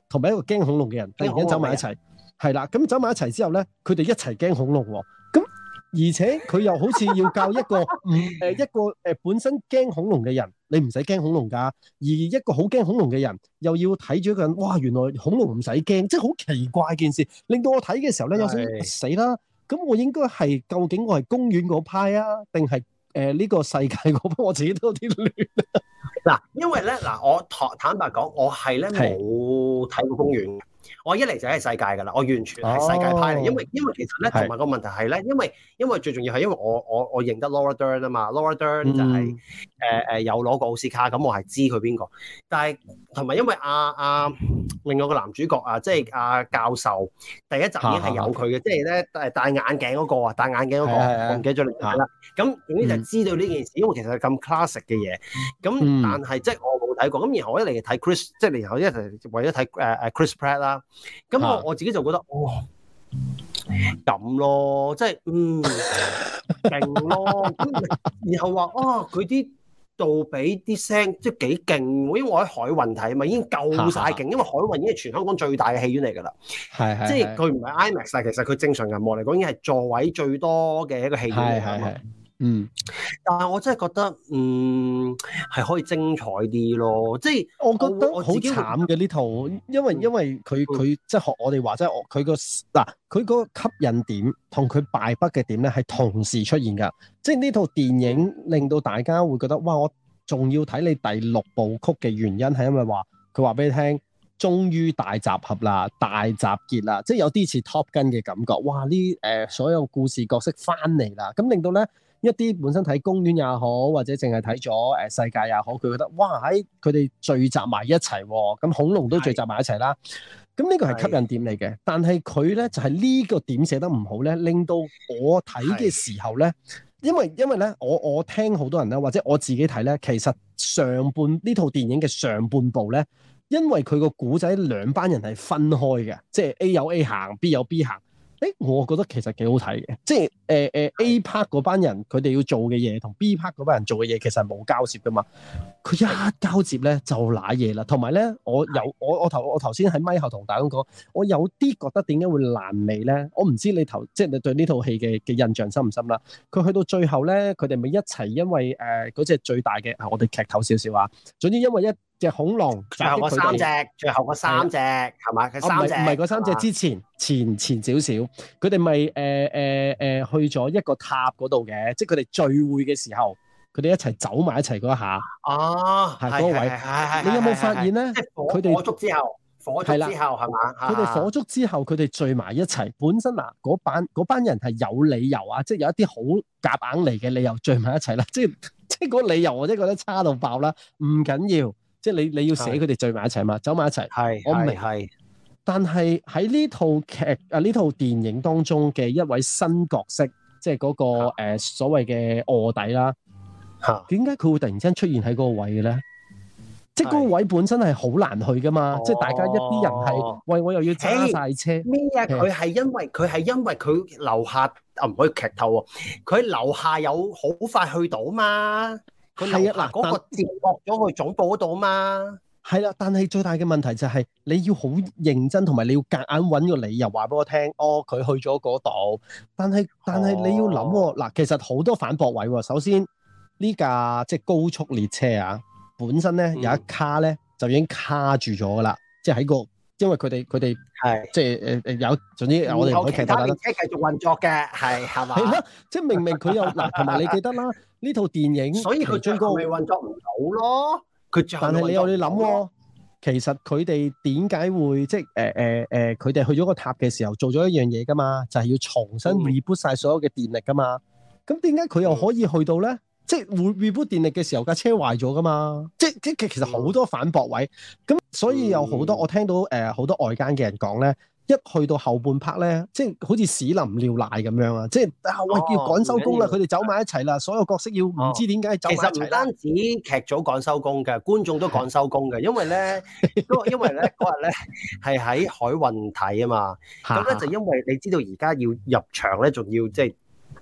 S3: 同埋一個驚恐龍嘅人突然間走埋一齊，係啦，咁走埋一齊之後咧，佢哋一齊驚恐龍喎，咁而且佢又好似要教一個唔誒一個誒、呃、本身驚恐龍嘅人，你唔使驚恐龍噶，而一個好驚恐龍嘅人又要睇住一個人，哇，原來恐龍唔使驚，即係好奇怪件事，令到我睇嘅時候咧有少少死啦，咁我應該係究竟我係公園嗰派啊，定係誒呢個世界嗰派？我自己都有啲亂。
S1: 嗱，因為咧嗱，我坦坦白講，我係咧冇睇過公園。我一嚟就係世界㗎啦，我完全係世界派嚟、哦，因為因為其實咧同埋個問題係咧，因為因為最重要係因為我我我認得 Laura Dern 啊嘛 Laura Dern 就係誒誒有攞過奧斯卡，咁我係知佢邊個，但係同埋因為阿、啊、阿、啊、另外個男主角啊，即係阿教授第一集已經係有佢嘅，即係咧誒戴眼鏡嗰、那個啊，戴眼鏡嗰、那個，我唔記得咗你係啦。咁總之就知道呢件事，因為其實係咁 classic 嘅嘢，咁、嗯、但係即係我冇睇過，咁然後我一嚟睇 Chris， 即係然後一嚟為咗睇誒誒 Chris Pratt 啦。咁我我自己就覺得，哇，咁咯，即係嗯勁咯，然後話啊，佢啲杜比啲聲即係幾勁喎，因為我喺海運睇啊嘛，已經夠晒勁，因為海運已經係全香港最大嘅戲院嚟㗎啦，係係，即係佢唔係 IMAX 啊，其實佢正常銀幕嚟講已經係座位最多嘅一個戲院嚟㗎嘛。嗯，但係我真係覺得，嗯，係可以精彩啲咯。即係我覺得好慘嘅呢套，因為因為佢佢即係學我哋話，即係佢個嗱佢個吸引點同佢敗筆嘅點咧，係同時出現㗎。即係呢套電影令到大家會覺得，哇！我仲要睇你第六部曲嘅原因係因為話佢話俾你聽，終於大集合啦，大集結啦，即係有啲似 Top Gun 嘅感覺。哇！呢誒、呃、所有故事角色翻嚟啦，咁令到咧。一啲本身睇公園也好，或者淨係睇咗誒世界也好，佢覺得哇喺佢哋聚集埋一齊，咁恐龍都聚集埋一齊啦。咁呢個係吸引點嚟嘅，但係佢咧就係、是、呢個點寫得唔好咧，令到我睇嘅時候咧，因為因為咧我我聽好多人咧，或者我自己睇咧，其實上半呢套電影嘅上半部咧，因為佢個古仔兩班人係分開嘅，即係 A 有 A 行 ，B 有 B 行。誒，我覺得其實幾好睇嘅，即係誒誒 A part 嗰班人佢哋要做嘅嘢，同 B part 嗰班人做嘅嘢其實係冇交接噶嘛。佢一交接咧就瀨嘢啦。同埋咧，我有我我頭我頭先喺咪後同大家講，我有啲覺得點解會爛尾咧？我唔知你頭即係你對呢套戲嘅嘅印象深唔深啦。佢去到最後咧，佢哋咪一齊因為誒嗰隻最大嘅，我哋劇透少少啊。總之因為一隻恐龍，最後嗰三隻，最後嗰三隻係嘛？佢三隻
S3: 唔係嗰三隻之前前前少少，佢哋咪誒誒誒去咗一個塔嗰度嘅，即係佢哋聚會嘅時候，佢哋一齊走埋一齊嗰一下。
S1: 哦，
S3: 係嗰個位。你有冇發現咧？佢哋
S1: 火燭之後，火燭之後係嘛？
S3: 佢哋火燭之後，佢哋聚埋一齊。本身嗱，嗰班嗰班人係有理由啊，即係有一啲好夾硬嚟嘅理由聚埋一齊啦。即係即係嗰個理由，我真係覺得差到爆啦。唔緊要。即係你你要寫佢哋聚埋一齊嘛，走埋一齊。係，我明。係，但係喺呢套劇啊呢套電影當中嘅一位新角色，即係嗰、那個誒、呃、所謂嘅臥底啦。嚇，點解佢會突然之間出現喺嗰個位嘅咧？即係嗰個位本身係好難去噶嘛，即係大家一啲人係喂，我又要揸晒車
S1: 咩啊？佢係因為佢係因為佢樓下啊，唔可以劇透喎。佢樓下有好快去到嘛。係啊，嗱，嗰個接駁咗去總部嗰度啊嘛。
S3: 係啦，但係最大嘅問題就係你要好認真，同埋你要夾硬揾個理由話俾我聽。哦，佢去咗嗰度，但係但係你要諗喎，嗱、哦，其實好多反駁位喎。首先呢架即係高速列車啊，本身咧、嗯、有一卡咧就已經卡住咗噶啦，即係喺個。因為佢哋佢哋係即係誒誒有，總之我哋唔可以劇透啦。其他列車繼續運作嘅，係係嘛？係啦，即係明明佢有嗱，同埋你記得啦，呢套電影，所以佢最後咪運作唔到咯。佢但係你又你諗喎，其實佢哋點解會即係誒誒誒，佢哋去咗個塔嘅時候做咗一樣嘢噶嘛？就係要重新 reboot 晒所有嘅電力噶嘛。咁點解佢又可以去到咧？即係會 reboot 電力嘅時候，架車壞咗噶嘛？即係即係其實好多反駁位，咁所以有好多、嗯、我聽到誒好、呃、多外間嘅人講咧，一去到後半 part 咧，即係好似屎淋尿瀨咁樣啊！即係啊喂，要趕收工啦，佢哋走埋一齊啦，所有角色要唔、哦、知點解走埋一齊啦。其實唔單止劇組趕收工嘅，觀眾都趕收工嘅，因為咧，因為咧嗰日咧係喺海運睇啊嘛，咁咧就因為你知道而家要入場咧，仲要即係。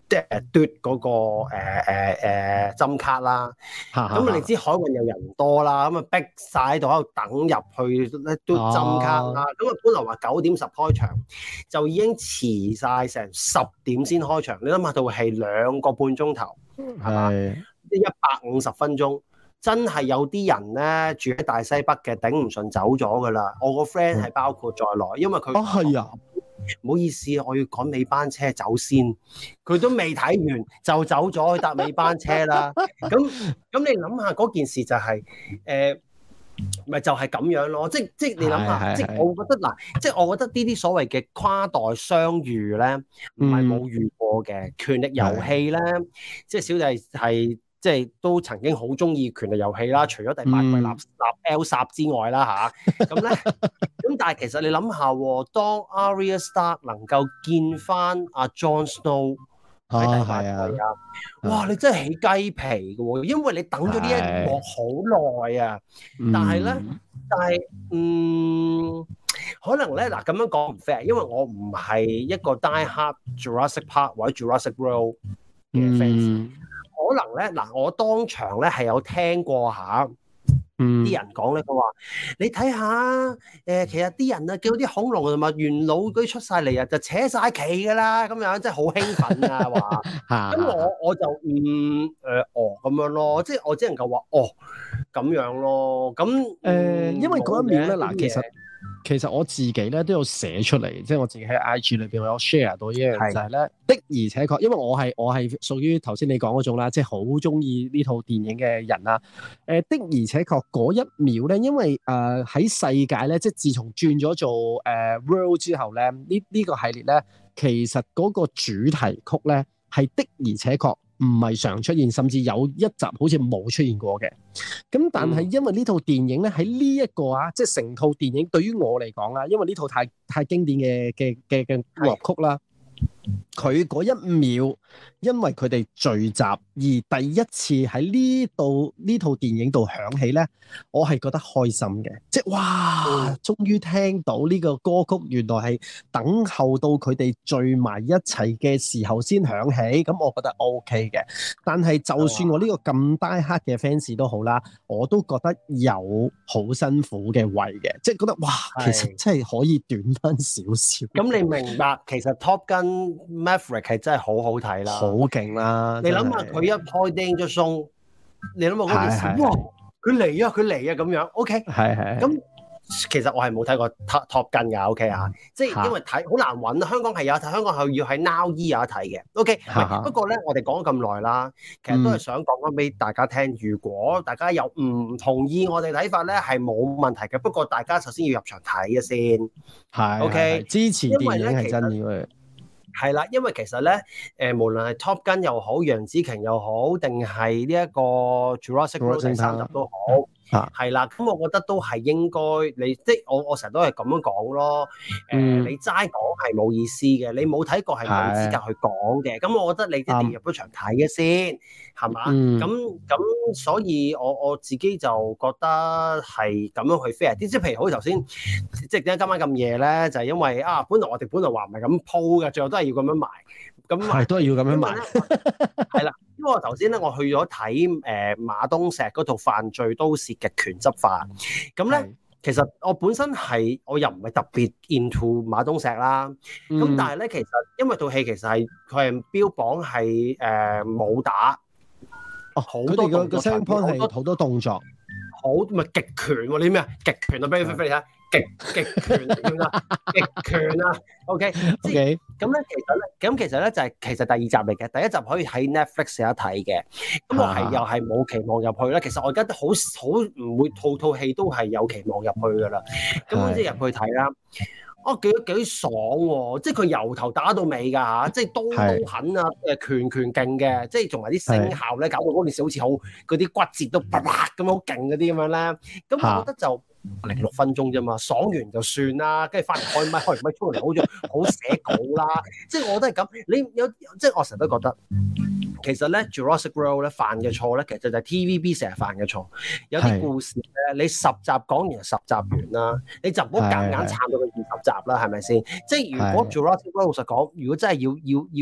S1: 即係嘟嗰個誒誒誒針卡啦，咁你知海運又人多啦，咁啊逼晒喺度喺度等入去嘟針卡啦，咁啊本來話九點十開場，就已經遲晒成十點先開場，你諗下到係兩個半鐘頭，係嘛？一百五十分鐘，真係有啲人咧住喺大西北嘅頂唔順走咗噶啦，我個 friend 係包括在內，因為佢
S3: 啊係啊。
S1: 唔好意思，我要趕尾班車走先。佢都未睇完就走咗去搭尾班車啦。咁咁你諗下嗰件事就係、是、誒，咪、呃、就係、是、咁樣咯。即即你諗下，即我覺得嗱，即我覺得呢啲所謂嘅跨代相遇咧，唔係冇遇過嘅。權力遊戲咧，即小弟係。即係都曾經好中意權力遊戲啦，除咗第八季立立 Elsa 之外啦吓，咁咧咁但係其實你諗下，當 Arya Stark 能夠見翻阿 Jon Snow 喺第八季啊，哇！你真係起雞皮嘅喎，因為你等咗呢一幕好耐啊。但係咧，但係嗯，可能咧嗱咁樣講唔 fair，因為我唔係一個 Die Hard Jurassic Park 或者 Jurassic World 嘅 fans。可能咧嗱，我當場咧係有聽過下，啲、嗯、人講咧，佢話你睇下，誒、呃，其實啲人啊，叫啲恐龍同埋元老嗰啲出晒嚟啊，就扯晒旗噶啦，咁樣真係好興奮啊，話，咁我我就唔誒、呃、哦咁樣咯，即係我只能夠話哦咁樣咯，咁誒、
S3: 呃，因為嗰一秒咧嗱，其實。其實我自己咧都有寫出嚟，即係我自己喺 I G 裏邊我有 share 到一樣就係咧的而且確，因為我係我係屬於頭先你講嗰種啦，即係好中意呢套電影嘅人啦。誒、呃、的而且確嗰一秒咧，因為誒喺、呃、世界咧，即係自從轉咗做誒、呃、World 之後咧，呢呢、呢個系列咧，其實嗰個主題曲咧係的而且確唔係常出現，甚至有一集好似冇出現過嘅。咁但係因為呢套電影咧喺呢一個啊，即係成套電影對於我嚟講啦，因為呢套太太經典嘅嘅嘅嘅樂曲啦，佢嗰一秒因為佢哋聚集而第一次喺呢度呢套電影度響起咧，我係覺得開心嘅，即係哇，終於聽到呢個歌曲，原來係等候到佢哋聚埋一齊嘅時候先響起，咁我覺得 OK 嘅。但係就算我呢個咁 die hard 嘅 fans 都好啦，我都覺得有好辛苦嘅位嘅，即係覺得哇，其實真係可以短翻少少。咁你明白，其實 Top Gun Maverick 係真係好好睇啦，好勁啦！你諗下佢一開 Danger Zone，你諗下嗰件事，哇！佢嚟啊，佢嚟啊咁樣 ，OK，係係咁。其實我係冇睇過 Top Top Gun 㗎 ，OK 啊，即係因為睇好難揾啊。香港係有睇，香港係要喺 Now E 有得睇嘅，OK。不過咧，我哋講咗咁耐啦，其實都係想講翻俾大家聽、嗯。如果大家有唔同意我哋睇法咧，係冇問題嘅。不過大家首先要入場睇嘅先，係 OK。支持電影係真嘅。係啦，因為其實咧，誒、呃、無論係 Top Gun 又好，楊紫瓊又好，定係呢一個 Jurassic World 第三集都好，係、嗯、啦，咁我覺得都係應該你，即係我我成日都係咁樣講咯。誒、呃嗯，你齋講係冇意思嘅，你冇睇過係冇資格去講嘅。咁我覺得你一定要入咗場睇嘅先，係嘛？咁咁，所以我我自己就覺得係咁樣去 fair 啲。即係譬如好似頭先，即係點解今晚咁夜咧？就係、是、因為啊，本來我哋本來話唔係咁鋪嘅，最後都係要咁樣賣。咁係都係要咁樣賣。係啦，因為我頭先咧，我去咗睇誒馬東石嗰套《犯罪都市極權執法》。咁咧，其實我本身係我又唔係特別 into 馬東石啦。咁、嗯、但係咧，其實因為套戲其實係佢係標榜係誒武打。哦，好多個個聲波係好多動作，好咪極權喎？你咩啊？極權啊！俾你俾你睇。極極權點啊？極權啊 ！OK，即係咁咧，其實咧，咁其實咧就係其實第二集嚟嘅，第一集可以喺 Netflix 有得睇嘅。咁我係又係冇期望入去啦。其實我而家都好好唔會套套戲都係有期望入去噶啦。咁即係入去睇啦。哦，幾幾爽喎！即係佢由頭打到尾㗎嚇，即係刀刀狠啊，誒拳拳勁嘅，即係同埋啲聲效咧，搞到嗰件事好似好嗰啲骨折都啪啪咁好勁嗰啲咁樣咧。咁我覺得就零六分鐘啫嘛，爽完就算啦，跟住翻嚟開咪，開完咪出嚟好似好寫稿啦。即係我都係咁，你有即係我成日都覺得。其實咧 Jurassic World 咧犯嘅錯咧，其實就係 T V B 成日犯嘅錯。有啲故事咧，你十集講完就十集完啦，你就唔好夾硬撐到佢二十集啦，係咪先？即係如果 Jurassic World 老實講，如果真係要要要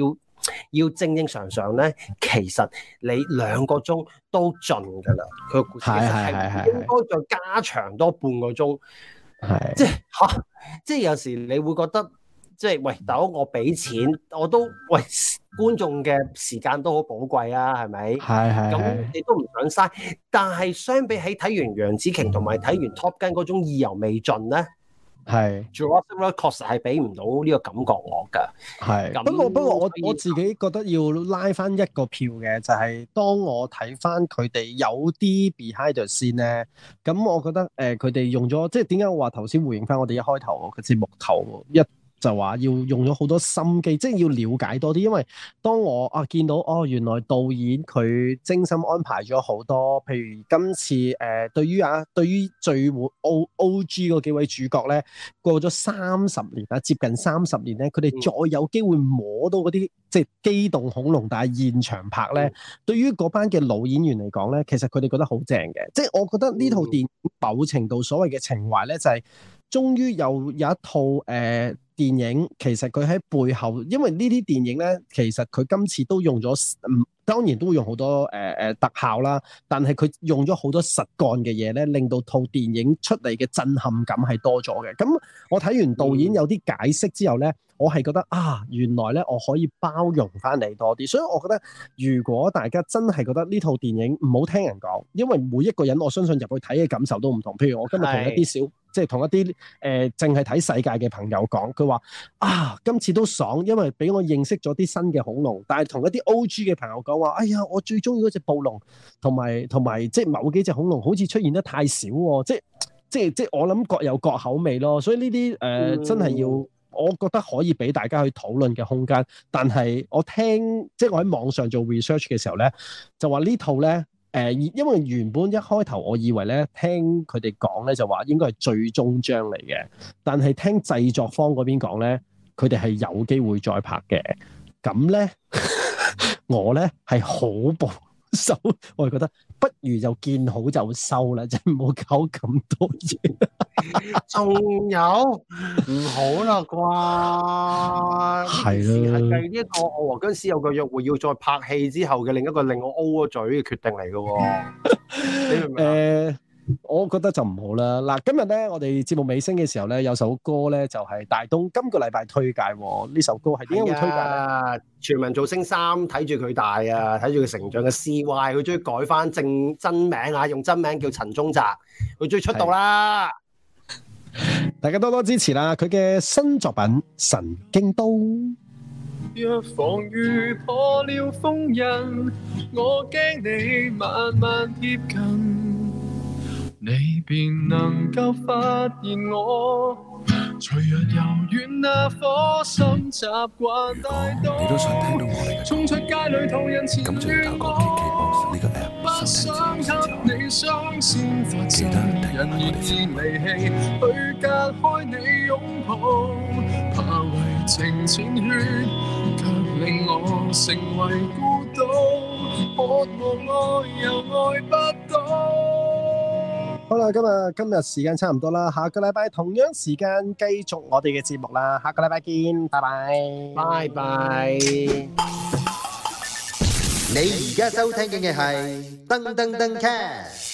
S1: 要正正常常咧，其實你兩個鐘都盡㗎啦。佢個故事其實係應該再加長多半個鐘。係，即係嚇，即係有時你會覺得。即係喂，大佬我俾錢，我都喂觀眾嘅時間都好寶貴啊，係咪？係係。咁你都唔想嘥，但係相比起睇完楊紫瓊同埋睇完 Top Gun 嗰種意猶未盡咧，係 Jurassic World 確實係俾唔到呢個感覺我㗎。係。不過不過我我自己覺得要拉翻一個票嘅，就係、是、當我睇翻佢哋有啲 behind the scene 咧，咁我覺得誒佢哋用咗，即係點解我話頭先回應翻我哋一開頭個節目頭一。就話要用咗好多心機，即係要了解多啲，因為當我啊見到哦，原來導演佢精心安排咗好多，譬如今次誒、呃、對於啊對於最 O O G 嗰幾位主角咧，過咗三十年啊，接近三十年咧，佢哋再有機會摸到嗰啲即係機動恐龍，但係現場拍咧，嗯、對於嗰班嘅老演員嚟講咧，其實佢哋覺得好正嘅，即係我覺得呢套電影某程度所謂嘅情懷咧，就係、是、終於有有一套誒。呃電影其實佢喺背後，因為呢啲電影咧，其實佢今次都用咗，嗯，當然都會用好多誒誒、呃、特效啦，但係佢用咗好多實幹嘅嘢咧，令到套電影出嚟嘅震撼感係多咗嘅。咁我睇完導演有啲解釋之後咧，嗯、我係覺得啊，原來咧我可以包容翻你多啲，所以我覺得如果大家真係覺得呢套電影唔好聽人講，因為每一個人我相信入去睇嘅感受都唔同。譬如我今日同一啲小。即係同一啲誒淨係睇世界嘅朋友講，佢話啊今次都爽，因為俾我認識咗啲新嘅恐龍。但係同一啲 O G 嘅朋友講話，哎呀我最中意嗰隻暴龍，同埋同埋即係某幾隻恐龍好似出現得太少喎，即係即係即係我諗各有各口味咯。所以呢啲誒真係要，我覺得可以俾大家去討論嘅空間。但係我聽即係我喺網上做 research 嘅時候咧，就話呢套咧。誒，因為原本一開頭我以為咧，聽佢哋講咧就話應該係最終章嚟嘅，但係聽製作方嗰邊講咧，佢哋係有機會再拍嘅。咁咧，我咧係好保守，我係覺得不如就見好就收啦，即係唔好搞咁多嘢。仲有唔好啦啩？係啦，係計呢一個我和僵屍有個約會要再拍戲之後嘅另一個令我 O 咗嘴嘅決定嚟嘅。你明唔明啊？誒，我覺得就唔好啦。嗱，今日咧我哋節目尾聲嘅時候咧，有首歌咧就係大東今個禮拜推介。呢首歌係點解會推介咧？全民造星三睇住佢大啊，睇住佢成長嘅 C Y， 佢終於改翻正真名啊，用真名叫陳宗澤，佢終於出道啦！大家多多支持啦！佢嘅新作品《神經刀》。若防禦破了封印，我驚你慢慢貼近，你便能夠發現我。脆弱柔軟那顆心習慣大刀，你都想聽到我哋嘅衝出街裡途人前亂我，不想給你雙線發誓，人願意離棄去隔開你擁抱，怕為情淺血卻令我成為孤島，渴望愛又愛不到。好啦，今日今日時間差唔多啦，下個禮拜同樣時間繼續我哋嘅節目啦，下個禮拜見，拜拜，拜拜。你而家收聽嘅係噔噔噔 cast。